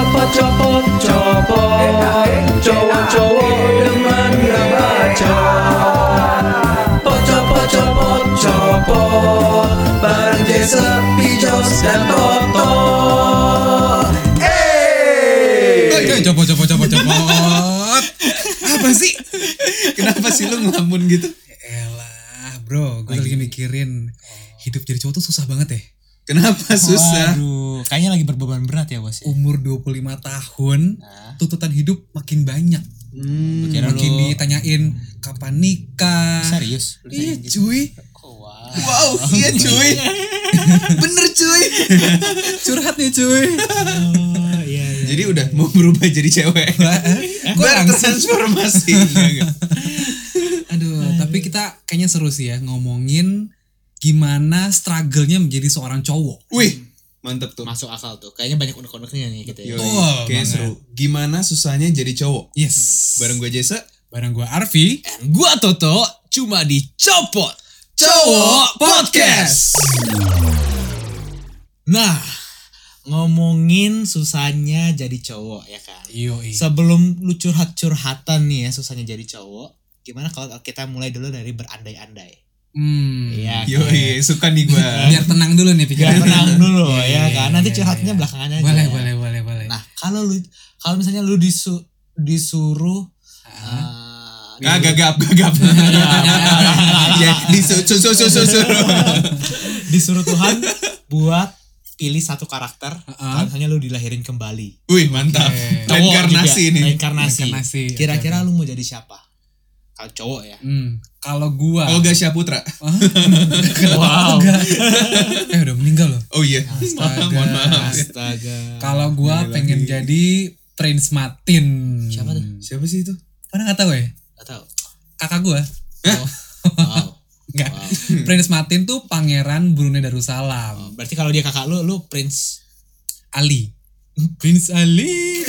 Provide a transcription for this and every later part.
Copot, cowok-cowok demen ngebaca. Pocopot, bareng Jesse, Pijos, dan Toto. Copot. Apa sih? Kenapa sih lu ngelamun gitu? Elah bro, gue lagi mikirin hidup jadi cowok tuh susah banget ya. Kenapa susah? Waduh, kayaknya lagi berbeban berat ya bos. Umur 25 tahun, tuntutan hidup makin banyak. Makin ditanyain kapan nikah. Serius? Iya cuy. Wow, iya cuy. Bener cuy. Curhat nih cuy. Iya. Jadi udah mau berubah jadi cewek. Bertransformasi. Aduh, tapi kita kayaknya seru sih ya ngomongin gimana struggle-nya menjadi seorang cowok. Wih, mantep tuh. Masuk akal tuh. Kayaknya banyak unek-uneknya nih gitu ya. Kayak seru. Gimana susahnya jadi cowok? Yes. Bareng gue Jesse. Bareng gue Arfi. Gua Toto, cuma dicopot Cowok Podcast. Nah, ngomongin susahnya jadi cowok ya kan. Yoi. Sebelum lu curhat-curhatan nih ya susahnya jadi cowok, gimana kalau kita mulai dulu dari berandai-andai? Iya. Yoi, suka nih gue. Biar tenang dulu nih pikiran. Biar tenang dulu ya kan. Nanti curhatnya belakangan aja. Boleh. Nah, kalau misalnya lu disuruh Gagap. Ya, disuruh Tuhan buat pilih satu karakter, kalau misalnya lu dilahirin kembali. Wih, mantap. Reinkarnasi ini. Reinkarnasi. Kira-kira lu mau jadi siapa? Kalau cowok ya. Kalau gua Olga Syaputra. Wow. udah meninggal loh. Oh iya. Astaga. Mohon maaf. Astaga. Kalau gua pengen jadi Prince Martin. Siapa tuh? Siapa sih itu? Pernah nggak tahu ya? Gak tahu. Kakak gua. Wow. Enggak. Prince Martin tuh pangeran Brunei Darussalam. Berarti kalau dia kakak lu Prince Ali. Prince Ali.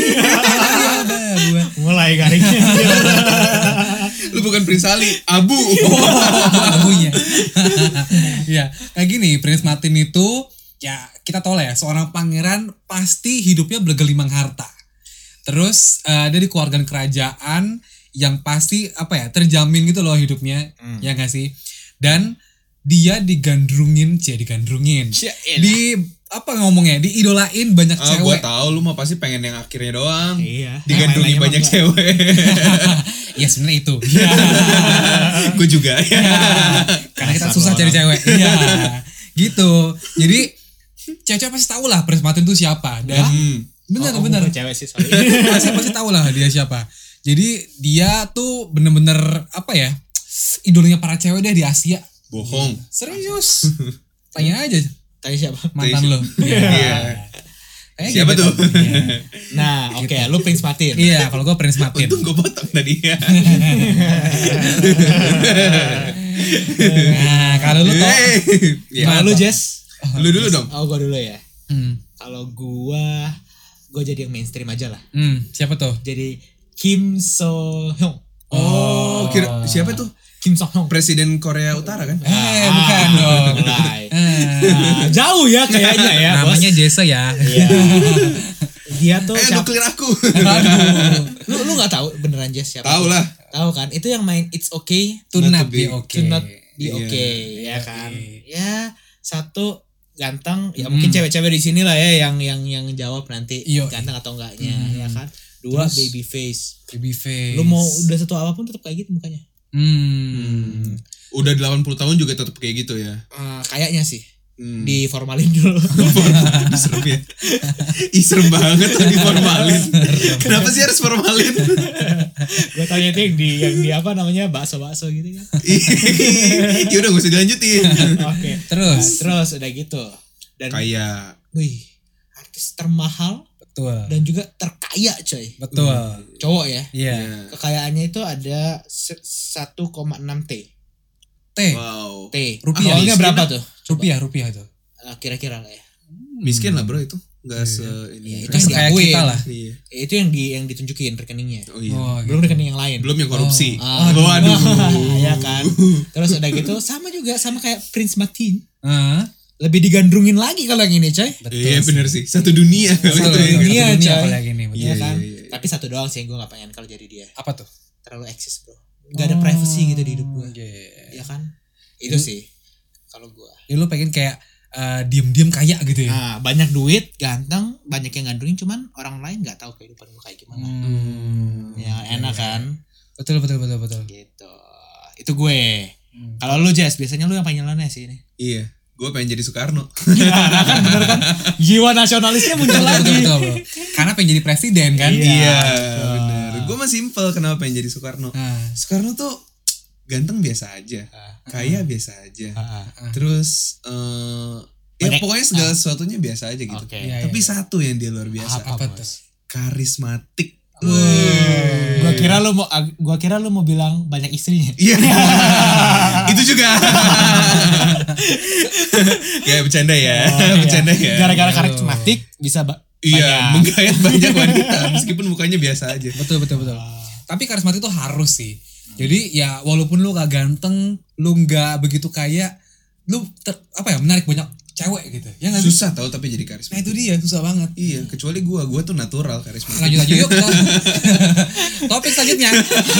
mulai garingnya. Lu bukan Prince Ali, Abu. Abunya. Ya, kayak gini, Prince Martin itu ya kita tahu lah ya, seorang pangeran pasti hidupnya bergelimang harta. Terus dia di keluarga kerajaan yang pasti terjamin gitu loh hidupnya, ya nggak sih? Dan dia digandrungin. Diidolain banyak cewek. Gua tahu lu mah pasti pengen yang akhirnya doang. Iya. Digandrungi banyak cewek. Ya sebenarnya itu. Gue juga. Karena kita susah cari cewek. Iya. Gitu. Jadi cewek-cewek pasti tahu lah Prince Martin itu siapa. Dan benar. Cewek sih, sorry. pasti tahu lah dia siapa. Jadi dia tuh bener-bener idolanya para cewek deh di Asia. Bohong. Serius. Tanya aja. Tanya siapa? Mantan lo. Iya. gitu. Siapa tuh? Nah, oke, lu Prince Martin. Iya, kalau gue Prince Martin. Untung gue potong tadi ya. Nah, kalau lu tau. Gimana lu, Jess? Lu dulu dong. Oh, gue dulu ya. Kalau gue jadi yang mainstream aja lah. Siapa tuh? Jadi Kim So Hyun. Oh, siapa tuh? Kim So Hyun. Presiden Korea Utara kan? Bukan dong. Mulai. Jauh ya kayaknya ya, Namanya bos. Jesse ya. Iya. Dia tuh nuklir aku. Lu nggak tahu beneran Jess siapa? Tahu lah. Tahu kan? Itu yang main It's Okay To not be okay. To not be okay, ya kan? Ya, satu ganteng, ya mungkin cewek-cewek di sini lah ya yang jawab nanti ganteng atau enggaknya, ya kan? Dua, baby face. Lu mau udah satu apapun tetap kayak gitu mukanya. Udah 80 tahun juga tetap kayak gitu ya. Kayaknya sih. Diformalin dulu. Serem ya. Serem banget tuh diformalin. Kenapa sih harus formalin? Gue tanya itu yang di apa namanya bakso gitu kan. Ya udah gak usah dilanjutin. Oke. Terus udah gitu. Dan kayak artis termahal. Betul. Dan juga terkaya coy. Betul. Cowok ya. Iya. Kekayaannya itu ada 1,6 T. Wow. T. Rupiahnya berapa tuh? Rupiah tuh. Kira-kira lah ya. Miskin lah bro itu. Gak ini. Itu yang kayak diakuin. kita lah. Iya. Itu yang ditunjukin rekeningnya. Oh iya. Belum rekening yang lain. Belum yang korupsi. Waduh. Ya kan. Terus udah gitu sama kayak Prince Martin. lebih digandrungin lagi kalau yang ini coy. Iya bener sih. Satu dunia. Satu dunia kalau yang ini. Iya kan. Iya. Tapi satu doang sih yang gue gak pengen kalau jadi dia. Apa tuh? Terlalu eksis bro. Gak ada privacy gitu di hidup gue. Iya. Iya kan. Itu sih kalau gue. Ya lu pengen kayak diem-diem kaya gitu ya. Nah, banyak duit, ganteng, banyak yang gandrungin, cuman orang lain nggak tahu kehidupan gue kayak gimana. Ya enak kan. Betul. Gitu. Itu gue. Kalau lu Jess, biasanya lu yang panggilannya sih ini. Iya. Gue pengen jadi Soekarno. Kan bener kan? Jiwa nasionalisnya muncul lagi. Betul. Karena pengen jadi presiden kan. Iya bener. Gue mah simple kenapa pengen jadi Soekarno. Soekarno tuh ganteng biasa aja, kaya biasa aja. Terus ya pokoknya segala sesuatunya biasa aja gitu. Okay. Tapi satu yang dia luar biasa. Apa tuh? Karismatik. Gua kira lu mau bilang banyak istrinya. Iya. Itu juga. Ya bercanda ya. Bercanda ya. Gara-gara karismatik bisa iya, menggayat banyak wanita meskipun mukanya biasa aja. Betul. Tapi karismatik itu harus sih. Jadi ya walaupun lu gak ganteng, lu gak begitu kaya, lu menarik banyak cewek gitu. Ya gak susah tau tapi jadi karismatik. Nah itu dia, susah banget. Iya, kecuali gue tuh natural karismatik. Lanjut yuk kita. Topik selanjutnya.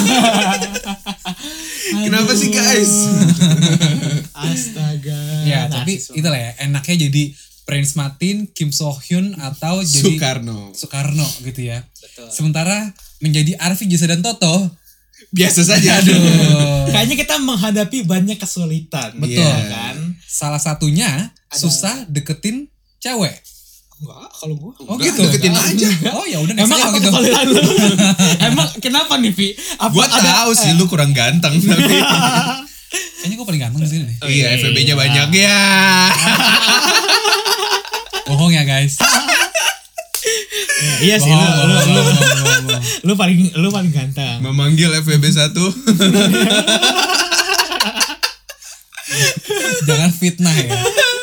Kenapa sih guys? Astaga. Ya tapi itulah ya, enaknya jadi Prince Martin, Kim So Hyun atau jadi Soekarno gitu ya. Betul. Sementara menjadi Arfi, Jessa dan Toto biasa saja. Aduh. Kayaknya kita menghadapi banyak kesulitan. Betul kan? Salah satunya susah deketin cewek. Enggak, kalau gua. Oh gitu. Deketin aja. Oh ya udah. Emang apa gitu. kesulitan lu? Emang kenapa nih, Vi? Gua tahu sih lu kurang ganteng tapi kayaknya gua paling ganteng di sini deh. Iya, FVB-nya banyak ya. Bohong ya guys. Iya sih, lu paling ganteng. Memanggil FVB 1. Jangan fitnah ya.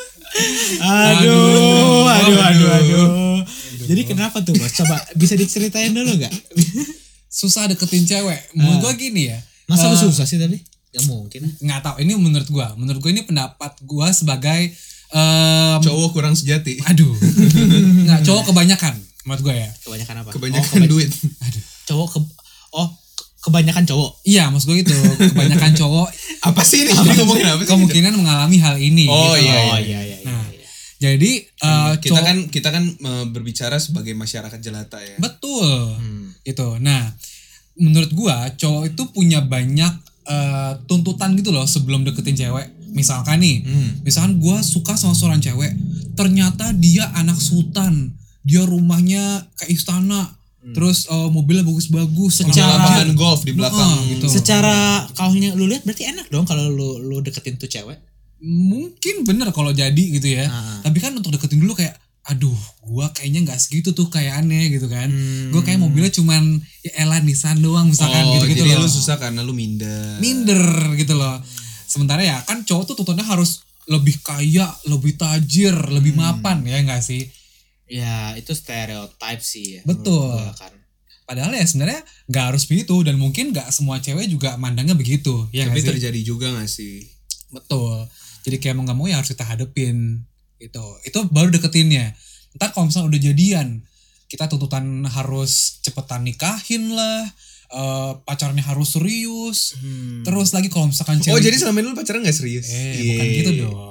Aduh. Jadi kenapa tuh bos? Coba bisa diceritain dulu gak? Susah deketin cewek. Menurut gua gini ya. Masa lu susah sih tapi? Gak mungkin. Nggak tahu. Ini menurut gua ini pendapat gua sebagai cowok kurang sejati. Aduh. Nggak, cowok kebanyakan. Menurut gue ya. Kebanyakan apa? Kebanyakan duit. Aduh. Kebanyakan cowok. Iya, maksud gue gitu. Kebanyakan cowok. Apa sih ini? Jadi ngomongin apa sih? Kemungkinan mengalami hal ini. Oh gitu. iya. Nah, jadi kita kan berbicara sebagai masyarakat jelata ya. Betul. Gitu. Nah, menurut gue cowok itu punya banyak tuntutan gitu loh sebelum deketin cewek. Misalkan gue suka sama seorang cewek, ternyata dia anak sultan. Dia rumahnya kayak istana, terus mobilnya bagus-bagus, secara lapangan golf di belakang gitu. Secara kaunya lu lihat berarti enak dong kalau lu deketin tuh cewek. Mungkin bener kalau jadi gitu ya. Tapi kan untuk deketin dulu kayak, aduh, gua kayaknya nggak segitu tuh kayaannya gitu kan. Gua kayak mobilnya cuman ya elah Nissan doang misalkan gitu jadi loh. Lu susah karena lu minder gitu loh. Sementara ya kan cowok tuh tuntutannya harus lebih kaya, lebih tajir, lebih mapan ya nggak sih? Ya itu stereotype sih ya. Betul kan. Padahal ya sebenarnya nggak harus begitu dan mungkin nggak semua cewek juga mandangnya begitu ya. Tapi terjadi juga nggak sih? Betul. Jadi kayak mau nggak mau ya harus kita hadepin gitu. Itu baru deketinnya. Ntar kalau misalnya udah jadian, kita tuntutan harus cepetan nikahin lah. Pacarnya harus serius. Terus lagi kalau misalkan cewek. Oh jadi selama ini lu pacaran gak serius? Bukan gitu dong.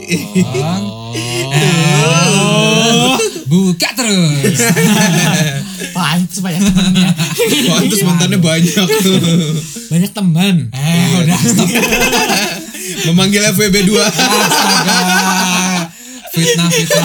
Buka terus. Pantes banyak temennya. Pantes mantannya banyak tuh. Banyak teman. Udah stop. Memanggil FWB 2. Astaga. Fitnah.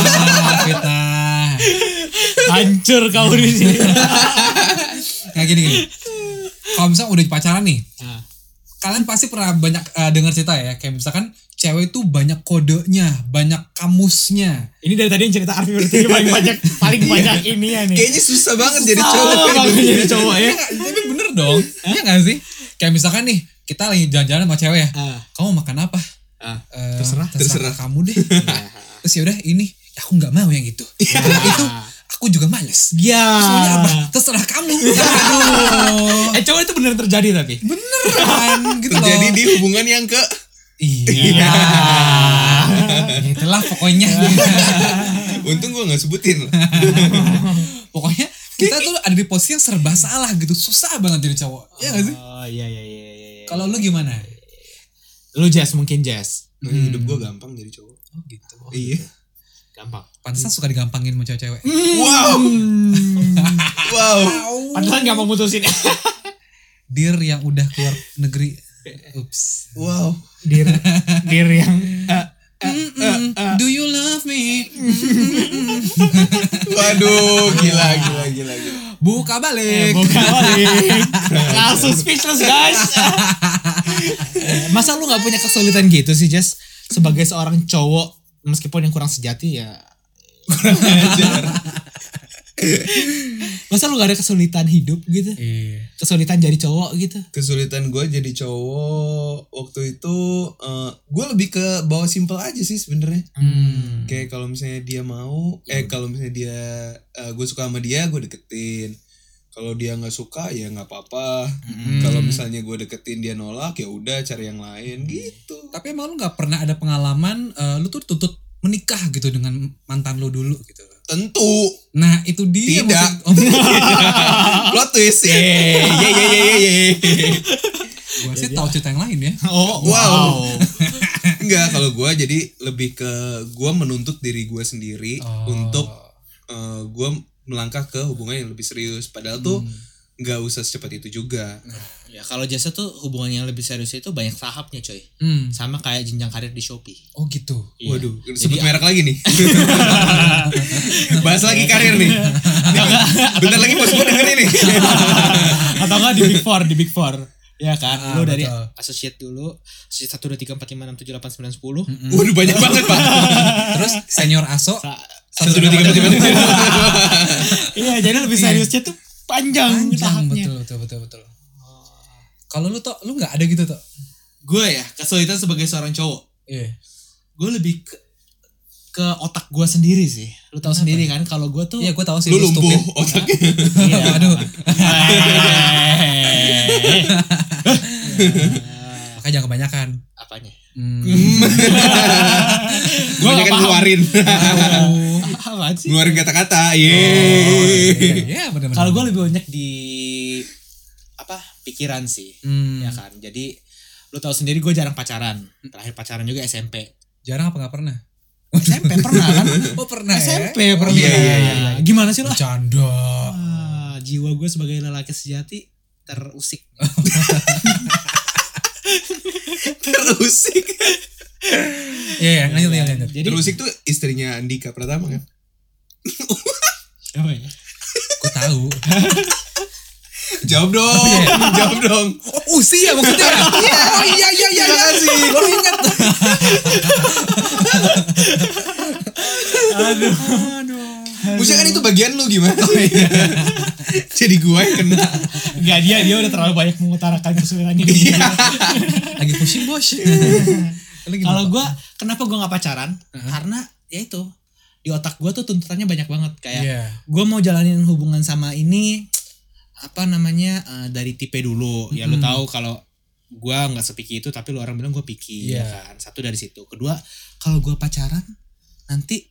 Hancur kau di sini. Nah gini. Kalau misalnya udah pacaran nih, kalian pasti pernah banyak dengar cerita ya, kayak misalkan cewek itu banyak kodenya, banyak kamusnya. Ini dari tadi yang cerita Arfi berarti paling banyak ini ya nih. Kayaknya susah banget jadi cowok. Jadi cowok ya. Tapi bener dong, iya nggak sih? Kayak misalkan nih, kita lagi jalan-jalan sama cewek ya, kamu makan apa? Terserah kamu deh. Terus ya udah ini, aku nggak mau yang itu. Itu aku juga males. Ya. Soalnya apa? Terserah kamu. Aduh. Cowok itu bener terjadi tapi. Beneran gitu terjadi loh. Di hubungan yang ke. Iya. Itulah pokoknya. Untung gue gak sebutin. Pokoknya kita tuh ada di posisi yang serba salah gitu. Susah banget jadi cowok. Iya gak sih? Oh iya. Kalau lu gimana? Lu mungkin Jazz. Hidup gue gampang jadi cowok. Oh gitu. Iya. Gampang. Pantesan suka digampangin sama cewek-cewek. Wow. Pantesan gampang putusin. Dir yang udah keluar negeri. Ups. Wow. Dir yang Do you love me? Waduh, gila. Buka balik. Langsung speechless guys. Masa lu gak punya kesulitan gitu sih Jess? Sebagai seorang cowok, meskipun yang kurang sejati ya kurang ajar. Masa lu gak ada kesulitan hidup gitu? Iya. Kesulitan jadi cowok gitu? Kesulitan gue jadi cowok waktu itu gue lebih ke bawa simple aja sih sebenarnya. Kayak kalau misalnya dia mau, kalau misalnya dia gue suka sama dia, gue deketin. Kalau dia nggak suka ya nggak apa-apa. Kalau misalnya gue deketin dia nolak ya udah cari yang lain gitu. Tapi emang lu nggak pernah ada pengalaman lu tuh tuntut menikah gitu dengan mantan lu dulu gitu? Tentu. Nah itu dia. Tidak. Plot twist. Gue sih tahu cerita yang lain ya. Oh wow. Enggak, kalau gue jadi lebih ke gue menuntut diri gue sendiri untuk gue melangkah ke hubungan yang lebih serius. Padahal tuh nggak usah secepat itu juga. Ya kalau jasa tuh hubungan yang lebih serius itu banyak tahapnya coy. Sama kayak jenjang karir di Shopee. Oh gitu. Iya. Waduh, sebut merek lagi nih. Bahas lagi karir nih. Bentar lagi bos gue denger ini. Atau enggak di Big Four. Ya kan, lu dari betul. associate dulu, associate 1, 2, 3, 4, 5, 6, 7, 8, 9, 10. Waduh banyak banget pak. Terus senior aso. 1, 2, 3, 4, 5. Iya, jadi lebih seriusnya tuh panjang tahapnya. Betul. Kalau lu tuh, lu nggak ada gitu tuh? Gue ya kesulitan sebagai seorang cowok. Iya. Gue lebih ke otak gue sendiri sih. Lu tahu sendiri kan kalau gue tuh. Iya, gue tahu sih. Lu lumpuh otaknya. Iya, aduh. Makanya jangan kebanyakan. Apanya? Gue kan ngeluarin. Apaan sih? Ngeluarin kata-kata. Iya, benar-benar. Kalau gue lebih banyak di pikiran sih. Ya kan. Jadi lu tahu sendiri gue jarang pacaran. Terakhir pacaran juga SMP. Jarang apa nggak pernah? SMP pernah kan? Oh pernah. SMP pernah. Iya. Gimana sih lu? Bercanda. Jiwa gue sebagai lelaki sejati terusik. Terusik. Iya, lanjut. Jadi Terusik tuh istrinya Andika Pratama kan? apa ya? Gue tahu. Jawab dong. Oh, usia maksudnya. Iya. Terima kasih. Baru ingat. Aduh. Maksudnya kan itu bagian lu gimana? Jadi gue yang kena. Enggak, dia udah terlalu banyak mengutarakan kesulitannya dia. Lagi pusing bos. Kalau gue, kenapa gue gak pacaran? Karena ya itu, di otak gue tuh tuntutannya banyak banget. Kayak gue mau jalanin hubungan sama ini, dari tipe dulu. Ya lu tahu kalau gue gak sepiki itu, tapi lu orang bilang gue picky. Ya kan? Satu dari situ. Kedua, kalau gue pacaran, nanti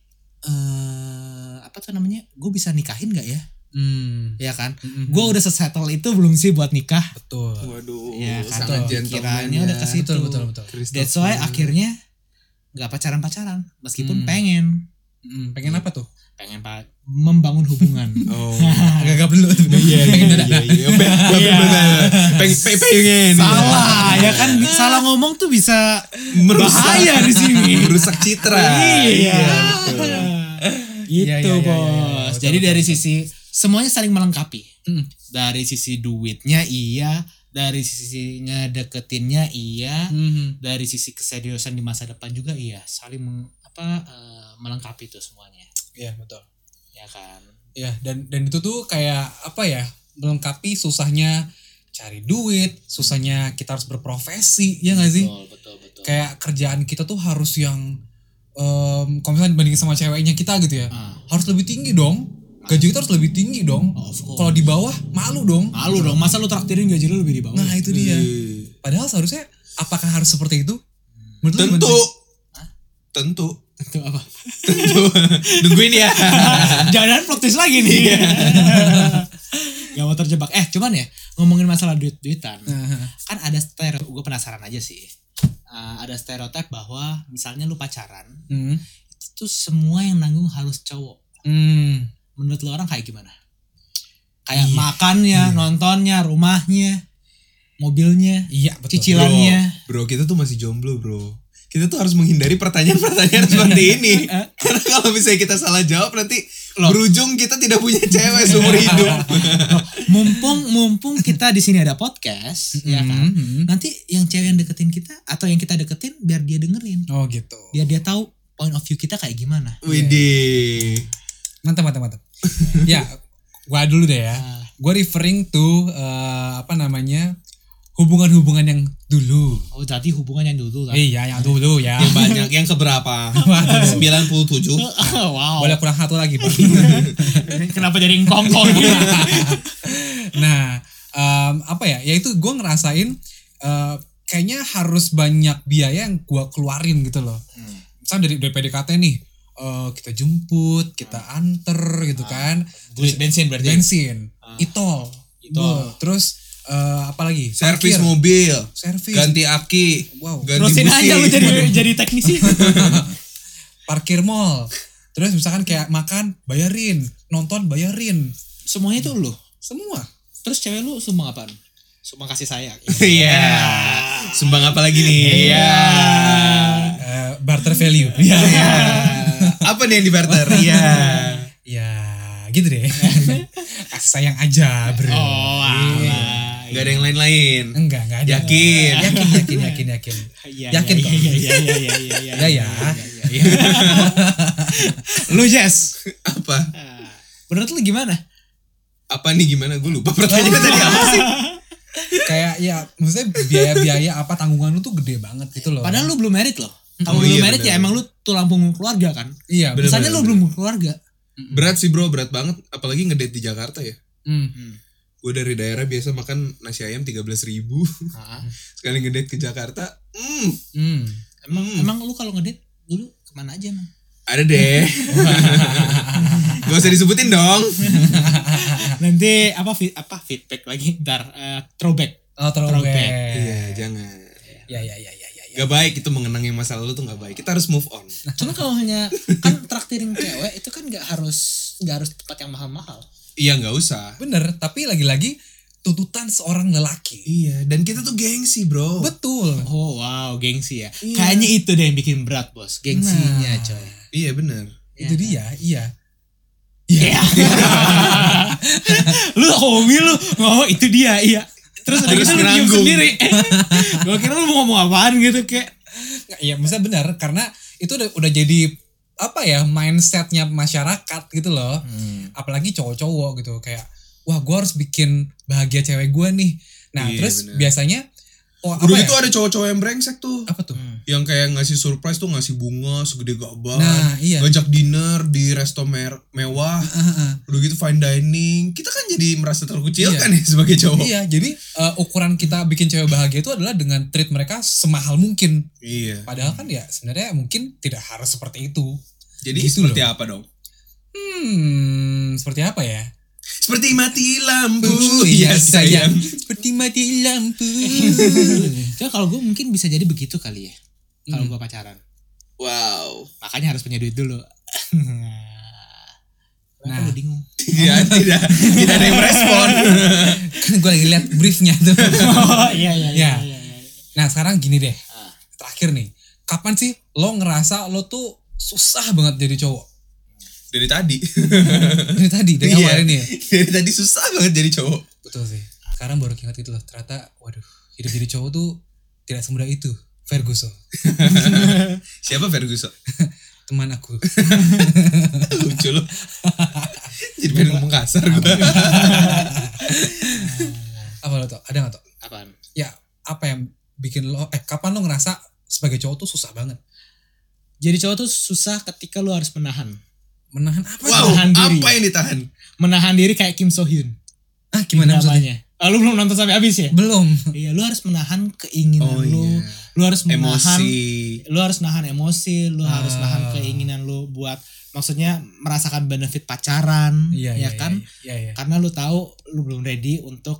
gue bisa nikahin gak ya? Ya kan? Gue udah settle itu belum sih buat nikah? Betul. Waduh. Ya kan? Sangat gentleman Pikirannya udah ke situ. Betul. That's why akhirnya gak pacaran meskipun pengen. Pengen apa tuh? Pengen membangun hubungan. Oh. Agak belum. Iya. Pengen. Salah ya kan? Salah ngomong tuh bisa bahaya di sini. Merusak citra. Iya. Gitu Iya, bos. betul, Jadi betul, dari sisi semuanya saling melengkapi. Dari sisi duitnya iya, dari sisinya deketinnya iya, dari sisi keseriusan di masa depan juga iya, saling melengkapi tuh semuanya. Iya betul. Ya kan. Ya dan itu tuh kayak apa ya, melengkapi susahnya cari duit, susahnya kita harus berprofesi, ya nggak sih? Betul. Kayak kerjaan kita tuh harus yang kalau misalnya dibandingin sama ceweknya kita gitu ya, harus lebih tinggi dong. Gaji kita harus lebih tinggi dong. Kalau di bawah malu dong. Masa lu traktirin gaji lu lebih di bawah? Nah itu dia. Padahal seharusnya apakah harus seperti itu? Menurut lu Tentu. Tentu apa? Tentu. Nungguin ya. Jangan plot twist lagi nih. Gak mau terjebak. Cuman ya ngomongin masalah duit-duitan. Kan ada stereotip. Gue penasaran aja sih. Ada stereotip bahwa misalnya lu pacaran, itu tuh semua yang nanggung harus cowok. Menurut lu orang kayak gimana? Kayak makannya, nontonnya, rumahnya, mobilnya, betul. Cicilannya. Bro, kita tuh masih jomblo, bro. Kita tuh harus menghindari pertanyaan-pertanyaan seperti ini. Karena kalau misalnya kita salah jawab nanti berujung kita tidak punya cewek seumur hidup. Mumpung kita di sini ada podcast, ya kan. Nanti yang cewek yang deketin kita atau yang kita deketin biar dia dengerin. Oh gitu. Biar dia tahu point of view kita kayak gimana. Widih. Mantap. Ya, gua dulu deh ya. Gua referring to hubungan-hubungan yang dulu. Oh, jadi hubungan yang dulu lah. Iya, yang dulu ya. Yang banyak, yang keberapa? 97. Wow. Boleh kurang satu lagi, Pak. Kenapa jadi ngkong-ngkong? Nah, ya itu gue ngerasain kayaknya harus banyak biaya yang gue keluarin gitu loh. Misalnya dari PDKT nih, kita jemput, kita anter gitu kan. Bensin berarti. Itol. Terus apalagi servis mobil, ganti aki, ganti terusin busi. aja lu jadi teknisi. Parkir mall. Terus misalkan kayak makan bayarin, nonton bayarin, semuanya itu lu semua. Terus cewek lu sumbang apaan? Sumbang kasih sayang. Iya. Sumbang apa lagi nih? Iya. Barter value. Iya. Apa nih yang di barter? Iya. Ya gitu deh. Kasih sayang aja, bro. Oh, Gak ada yang lain-lain. Enggak ada. Yakin. Yakin kok. Iya. Lu Jess, Apa? menurut lu gimana? Apa nih gimana? Gue lupa pertanyaannya tadi apa sih? Kayak ya maksudnya biaya-biaya apa tanggungan lu tuh gede banget gitu loh. Padahal lu belum married loh. Kalau belum married ya emang lu tulang punggung keluarga kan? Iya. Misalnya lu belum keluarga. Berat sih bro, berat banget. Apalagi ngedate di Jakarta ya. Gue dari daerah biasa makan nasi ayam 13.000. Sekali ngedate ke Jakarta, Emang lu kalau ngedate dulu kemana aja emang? ada deh. Gak usah disebutin dong. Nanti apa feedback lagi? Ntar throwback. Oh, throwback. Iya, jangan. Ya. Gak baik itu mengenang yang masa lalu tuh gak baik. Kita harus move on. Cuma kalau hanya kan traktirin cewek itu kan nggak harus tempat yang mahal-mahal. Iya gak usah. Bener, tapi lagi-lagi tuntutan seorang lelaki. Iya, dan kita tuh gengsi bro. Betul. Oh wow, gengsi ya. Iya. Kayaknya itu deh yang bikin berat bos, gengsinya coy. Iya bener. Itu dia, iya. Iya. Lu homi lu ngomong itu dia, iya. Terus udah gitu lu diem sendiri. Gue kira lu mau ngomong apaan gitu kayak. Iya, maksudnya benar karena itu udah jadi apa ya mindsetnya masyarakat gitu loh. Apalagi cowok-cowok gitu kayak wah gue harus bikin bahagia cewek gue nih. Nah iya, terus bener. biasanya Dulu itu ada cowok-cowok yang brengsek tuh. Apa tuh? Yang kayak ngasih surprise tuh ngasih bunga segede gaban. Nah, iya. Ngajak dinner di resto mewah. Udah gitu fine dining. Kita kan jadi merasa terkucilkan ya sebagai cowok. Iya, jadi ukuran kita bikin cewek bahagia itu adalah dengan treat mereka semahal mungkin. Iya. Padahal kan ya sebenarnya mungkin tidak harus seperti itu. Jadi gitu seperti loh. apa dong? Seperti apa ya? Seperti mati lampu. Iya sayang. Seperti mati lampu. Coba kalau gue mungkin bisa jadi begitu kali ya. Kalau gue pacaran. Wow. Makanya harus punya duit dulu. Nah, gue bingung. Tidak ada yang merespon. Kan gue lagi lihat briefnya tuh. Oh iya. Nah sekarang gini deh. Terakhir nih. Kapan sih lo ngerasa lo tuh susah banget jadi cowok? Dari tadi. Dari awal ini ya? Dari tadi susah banget jadi cowok. Betul sih. Sekarang baru ingat gitu loh. Ternyata waduh hidup jadi cowok tuh tidak semudah itu. Ferguson. Siapa Ferguson? Teman aku. Lucu loh. Jadi pengen ngomong kasar gue. Apa lo tau? Ada gak tau? Apaan? Ya apa yang bikin lo kapan lo ngerasa sebagai cowok tuh susah banget? Jadi cowok tuh susah ketika lo harus menahan. Menahan apa? Wow, Menahan diri. apa yang ditahan? Menahan diri kayak Kim So Hyun. Gimana maksudnya? Lu belum nonton sampai habis ya? Belum. Iya, lu harus menahan keinginan lu. Lu harus menahan emosi. Lu harus nahan emosi, lu harus nahan keinginan lu buat maksudnya merasakan benefit pacaran, ya kan? Iya. Karena lu tahu lu belum ready untuk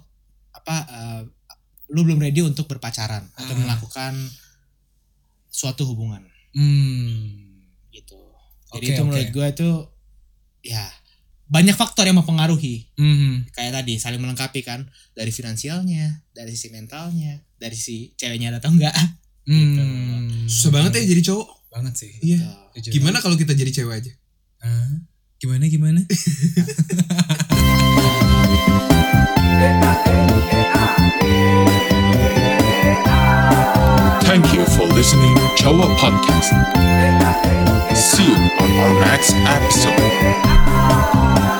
lu belum ready untuk berpacaran atau melakukan suatu hubungan. Gitu. Jadi itu menurut gue itu ya banyak faktor yang mempengaruhi. Kayak tadi saling melengkapi kan, dari finansialnya, dari sisi mentalnya, dari si ceweknya ada atau enggak. Gitu. Susah banget ya jadi cowok. Banget sih. Iya. Gimana kalau kita jadi cewek aja? Gimana? Thank you for listening Chowa Podcast. See you on our next episode.